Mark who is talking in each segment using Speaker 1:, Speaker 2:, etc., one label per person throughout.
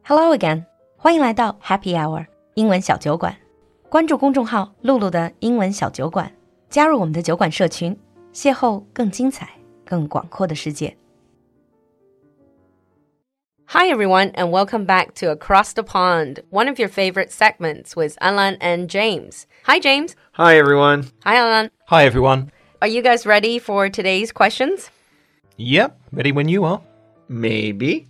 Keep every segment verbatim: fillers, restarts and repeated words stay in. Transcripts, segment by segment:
Speaker 1: Hello again， 欢迎来到 Happy Hour 英文小酒馆。关注公众号露露的英文小酒馆，加入我们的酒馆社群，邂逅更精彩、更广阔的世界。
Speaker 2: Hi everyone, and welcome back to Across the Pond, one of your favorite segments with Alan and James. Hi James.
Speaker 3: Hi everyone.
Speaker 2: Hi Alan.
Speaker 4: Hi everyone.
Speaker 2: Are you guys ready for today's questions?
Speaker 4: Yep, ready when you are.
Speaker 3: Maybe.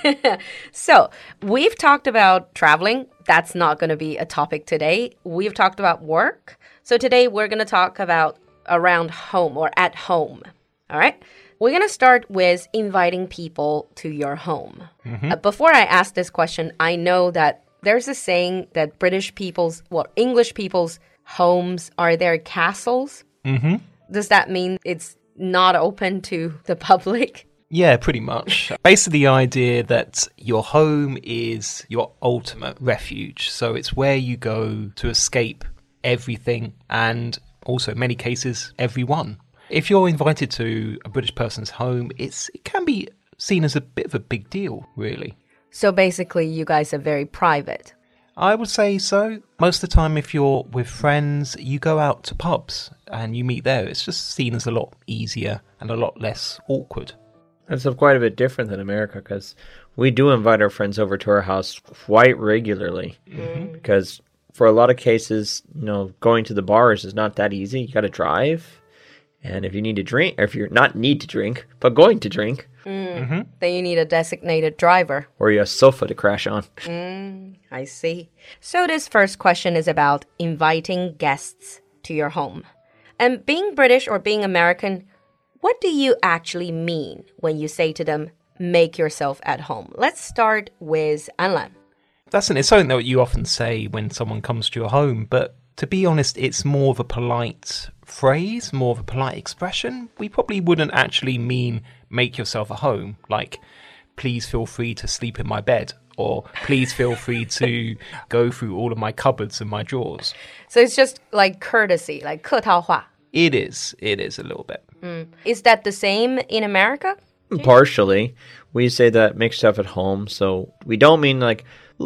Speaker 2: So, we've talked about traveling. That's not going to be a topic today. We've talked about work. So today we're going to talk about around home or at home. All right? We're going to start with inviting people to your home. Mm-hmm. Uh, before I ask this question, I know that there's a saying that British people's, well, English people's homes are their castles.
Speaker 4: Mm-hmm.
Speaker 2: Does that mean it's not open to the public?
Speaker 4: Yeah, pretty much. Basically, the idea that your home is your ultimate refuge. So it's where you go to escape everything and also, in many cases, everyone. If you're invited to a British person's home, it's it can be seen as a bit of a big deal, really.
Speaker 2: So basically, you guys are very private.
Speaker 4: I would say so. Most of the time, if you're with friends, you go out to pubs and you meet there. It's just seen as a lot easier and a lot less awkward.
Speaker 3: That's quite a bit different than America because we do invite our friends over to our house quite regularly. Mm-hmm. Because for a lot of cases, you know, going to the bars is not that easy. You got to drive. And if you need to drink, or if you're not need to drink, but going to drink,
Speaker 2: mm. mm-hmm. then you need a designated driver.
Speaker 3: Or you have a sofa to crash on.
Speaker 2: Mm, I see. So this first question is about inviting guests to your home. And being British or being American, what do you actually mean when you say to them, make yourself at home? Let's start with Alan.
Speaker 4: That's an, it's something that you often say when someone comes to your home, but to be honest, it's more of a polite phrase, more of a polite expression. We probably wouldn't actually mean make yourself at home, like please feel free to sleep in my bed, or please feel free to go through all of my cupboards and my drawers.
Speaker 2: So it's just like courtesy, like 客套话.
Speaker 4: It is. It is a little bit.
Speaker 2: Mm. Is that the same in America?
Speaker 3: Partially. We say that make stuff at home, so we don't mean like,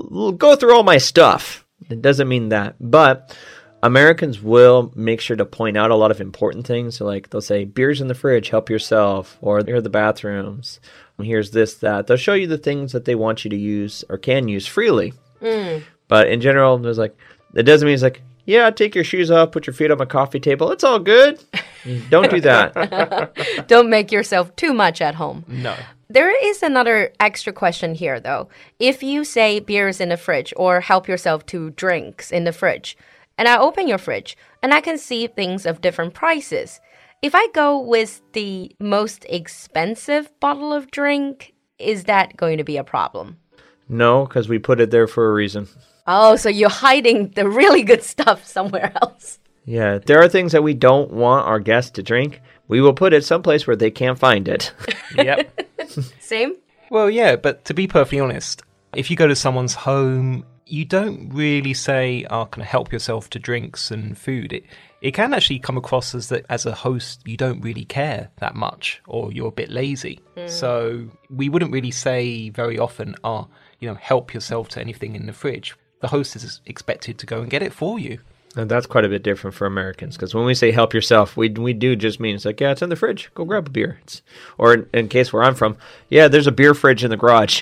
Speaker 3: go through all my stuff. It doesn't mean that. But Americans will make sure to point out a lot of important things. So like they'll say, beer's in the fridge, help yourself. Or here are the bathrooms. Here's this, that. They'll show you the things that they want you to use or can use freely. Mm. But in general, there's like, it doesn't mean it's like, yeah, take your shoes off, put your feet on my coffee table. It's all good. Don't do that.
Speaker 2: Don't make yourself too much at home.
Speaker 4: No.
Speaker 2: There is another extra question here, though. If you say beer is in the fridge or help yourself to drinks in the fridge, and I open your fridge and I can see things of different prices, if I go with the most expensive bottle of drink, is that going to be a problem?
Speaker 3: No, because we put it there for a reason.
Speaker 2: Oh, so you're hiding the really good stuff somewhere else.
Speaker 3: Yeah, there are things that we don't want our guests to drink. We will put it someplace where they can't find it.
Speaker 4: Yep.
Speaker 2: Same?
Speaker 4: Well, yeah, but to be perfectly honest, if you go to someone's home, you don't really say, oh, can I help yourself to drinks and food? It it can actually come across as that as a host, you don't really care that much or you're a bit lazy. Mm. So we wouldn't really say very often, oh, you know, help yourself to anything in the fridge. The host is expected to go and get it for you.
Speaker 3: And that's quite a bit different for Americans, because when we say help yourself, we we do just mean it's like, yeah, it's in the fridge. Go grab a beer. It's, or in, in case where I'm from, yeah, there's a beer fridge in the garage.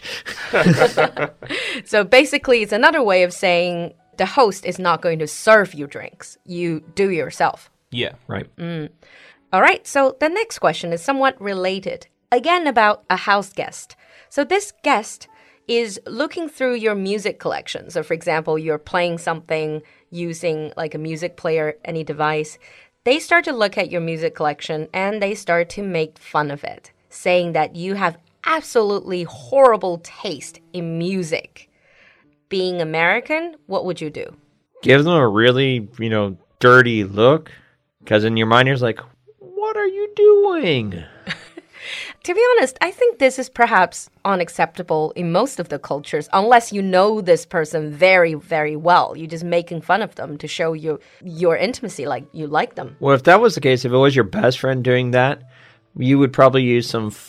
Speaker 2: So basically, it's another way of saying the host is not going to serve you drinks. You do yourself.
Speaker 4: Yeah, right.
Speaker 2: Mm. All right, so the next question is somewhat related. Again, about a house guest. So this guest is looking through your music collection. So for example, you're playing something using like a music player, any device. They start to look at your music collection and they start to make fun of it, saying that you have absolutely horrible taste in music. Being American, what would you do?
Speaker 3: Give them a really, you know, dirty look. Because in your mind, you're like, what are you doing?
Speaker 2: To be honest, I think this is perhaps unacceptable in most of the cultures, unless you know this person very, very well. You're just making fun of them to show you your intimacy, like you like them.
Speaker 3: Well, if that was the case, if it was your best friend doing that, you would probably use some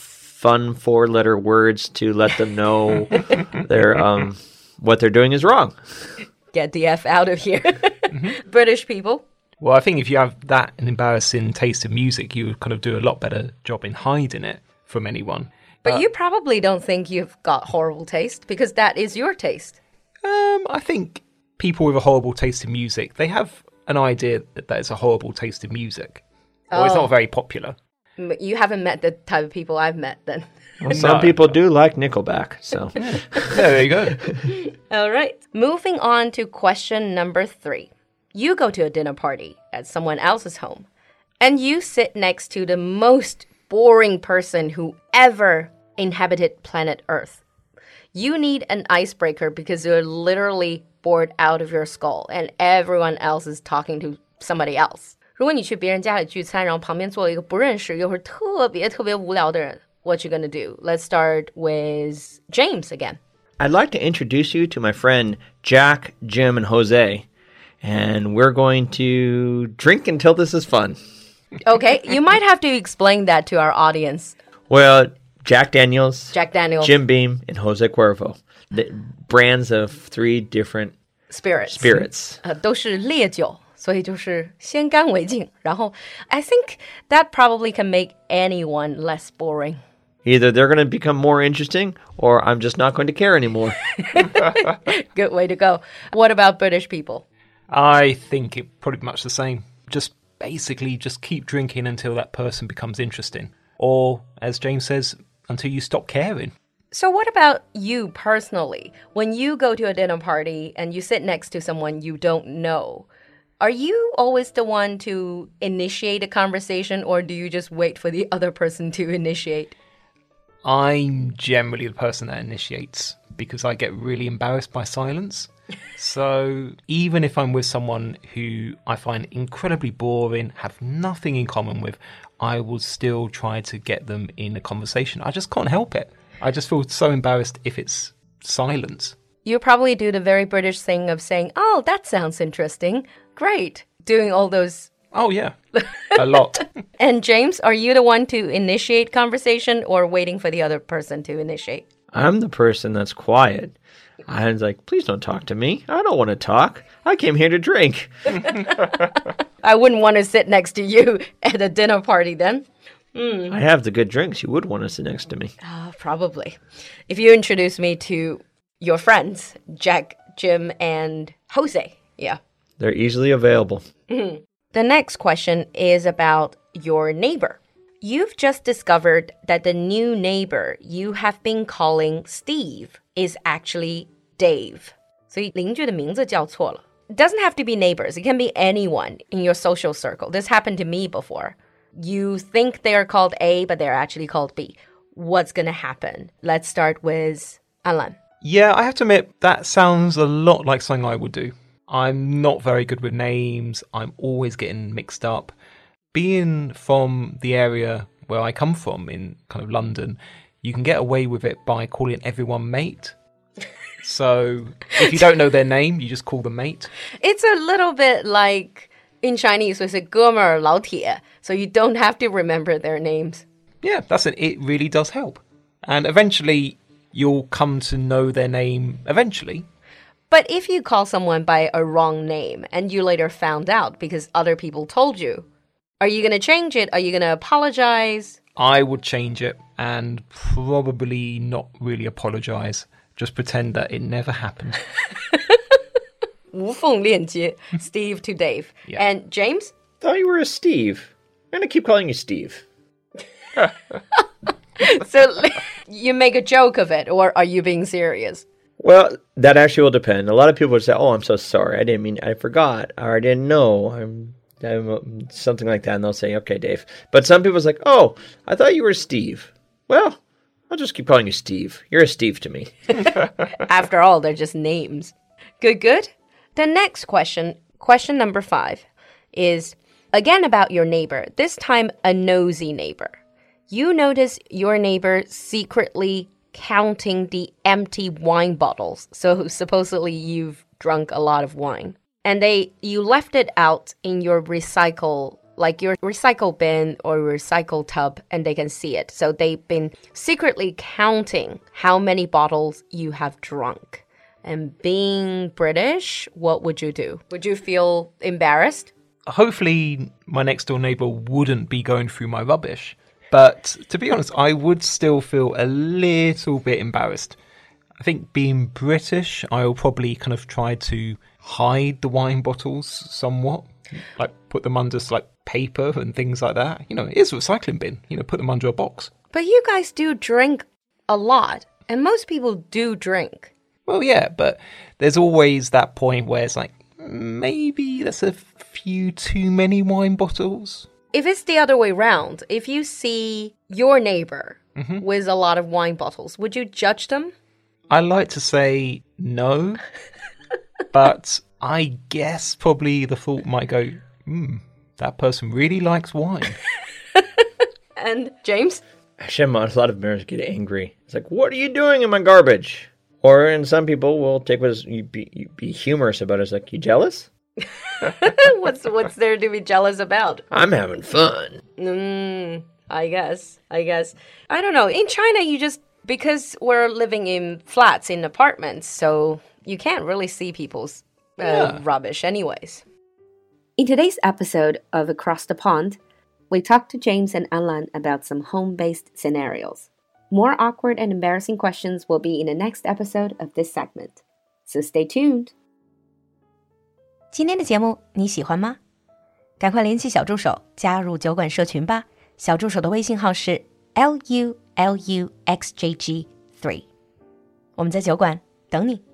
Speaker 3: fun four-letter words to let them know they're um what they're doing is wrong.
Speaker 2: Get the F out of here. Mm-hmm. British people.
Speaker 4: Well, I think if you have that an embarrassing taste of music, you would kind of do a lot better job in hiding it from anyone.
Speaker 2: But
Speaker 4: uh,
Speaker 2: you probably don't think you've got horrible taste because that is your taste.
Speaker 4: Um, I think people with a horrible taste in music, they have an idea that that is a horrible taste in music. Or oh. It's not very popular.
Speaker 2: You haven't met the type of people I've met then.
Speaker 3: Well, some no. people do like Nickelback, so.
Speaker 4: Yeah, there you go.
Speaker 2: All right. Moving on to question number three. You go to a dinner party at someone else's home, and you sit next to the most boring person who ever inhabited planet Earth. You need an icebreaker because you're literally bored out of your skull, and everyone else is talking to somebody else. 如果你去别人家里聚餐，然后旁边坐了一个不认识又是特别特别无聊的人 what you gonna do? Let's start with James again.
Speaker 3: I'd like to introduce you to my friend Jack, Jim, and Jose. And we're going to drink until this is fun.
Speaker 2: Okay, you might have to explain that to our audience.
Speaker 3: Well, Jack Daniels,
Speaker 2: Jack Daniels,
Speaker 3: Jim Beam, and Jose Cuervo. The brands of three different
Speaker 2: spirits.
Speaker 3: Spirits.
Speaker 2: 呃，都是烈酒，所以就是先干为敬。然后 I think that probably can make anyone less boring.
Speaker 3: Either they're going to become more interesting or I'm just not going to care anymore.
Speaker 2: Good way to go. What about British people?
Speaker 4: I think it pretty much the same. Just basically just keep drinking until that person becomes interesting. Or, as James says, until you stop caring.
Speaker 2: So what about you personally? When you go to a dinner party and you sit next to someone you don't know, are you always the one to initiate a conversation or do you just wait for the other person to initiate?
Speaker 4: I'm generally the person that initiates because I get really embarrassed by silence. So even if I'm with someone who I find incredibly boring, have nothing in common with, I will still try to get them in a conversation. I just can't help it. I just feel so embarrassed if it's silence.
Speaker 2: You probably do the very British thing of saying, oh, that sounds interesting. Great. Doing all those.
Speaker 4: Oh, yeah. A lot.
Speaker 2: And James, are you the one to initiate conversation or waiting for the other person to initiate?
Speaker 3: I'm the person that's quiet. I was like, please don't talk to me. I don't want to talk. I came here to drink.
Speaker 2: I wouldn't want to sit next to you at a dinner party then. Mm.
Speaker 3: I have the good drinks. You would want to sit next to me.
Speaker 2: Uh, probably. If you introduce me to your friends, Jack, Jim, and Jose. Yeah.
Speaker 3: They're easily available.
Speaker 2: Mm-hmm. The next question is about your neighbor. You've just discovered that the new neighbor you have been calling Steve is actually Dave. 所以邻居的名字叫错了. It doesn't have to be neighbors. It can be anyone in your social circle. This happened to me before. You think they're called A, but they're actually called B. What's going to happen? Let's start with Alan.
Speaker 4: Yeah, I have to admit, that sounds a lot like something I would do. I'm not very good with names. I'm always getting mixed up. Being from the area where I come from in kind of London, you can get away with it by calling everyone mate. So if you don't know their name, you just call them mate.
Speaker 2: It's a little bit like in Chinese, we say 哥们儿老铁, so you don't have to remember their names.
Speaker 4: Yeah, that's it. It really does help. And eventually, you'll come to know their name eventually.
Speaker 2: But if you call someone by a wrong name and you later found out because other people told you, are you going to change it? Are you going to apologize?
Speaker 4: I would change it and probably not really apologize. Just pretend that it never happened.
Speaker 2: 无缝链接, Steve to Dave. Yeah. And James?
Speaker 3: Thought you were a Steve. I'm going to keep calling you Steve.
Speaker 2: So you make a joke of it, or are you being serious?
Speaker 3: Well, that actually will depend. A lot of people would say, oh, I'm so sorry. I didn't mean, I forgot, or I didn't know. I'm, I'm something like that. And they'll say, okay, Dave. But some people's like, oh, I thought you were Steve. Well, I'll just keep calling you Steve. You're a Steve to me.
Speaker 2: After all, they're just names. Good, good. The next question, question number five, is again about your neighbor, this time a nosy neighbor. You notice your neighbor secretly counting the empty wine bottles. So supposedly you've drunk a lot of wine. And they you left it out in your recycle like your recycle bin or recycle tub, and they can see it. So they've been secretly counting how many bottles you have drunk. And being British, what would you do? Would you feel embarrassed?
Speaker 4: Hopefully, my next door neighbour wouldn't be going through my rubbish. But to be honest, I would still feel a little bit embarrassed. I think being British, I'll probably kind of try to hide the wine bottles somewhat. Like put them under like paper and things like that. You know, it is a recycling bin. You know, put them under a box.
Speaker 2: But you guys do drink a lot. And most people do drink.
Speaker 4: Well, yeah, but there's always that point where it's like, maybe that's a few too many wine bottles.
Speaker 2: If it's the other way around, if you see your neighbor
Speaker 4: mm-hmm.
Speaker 2: with a lot of wine bottles, would you judge them?
Speaker 4: I like to say no, but I guess probably the thought might go, hmm, that person really likes wine.
Speaker 2: And James?
Speaker 3: Actually, a lot of Americans get angry. It's like, what are you doing in my garbage? Or, and some people will take what is, you be, you be humorous about it. It's like, you jealous?
Speaker 2: what's what's there to be jealous about?
Speaker 3: I'm having fun.
Speaker 2: Mm, I guess. I guess. I don't know. In China, you just, because we're living in flats, in apartments, so you can't really see people's uh, yeah. rubbish anyways. In today's episode of Across the Pond, we talked to James and Anlan about some home-based scenarios. More awkward and embarrassing questions will be in the next episode of this segment. So stay tuned.
Speaker 1: 今天的节目你喜欢吗？赶快联系小助手加入酒馆社群吧。小助手的微信号是 L U L U X J G three。我们在酒馆等你。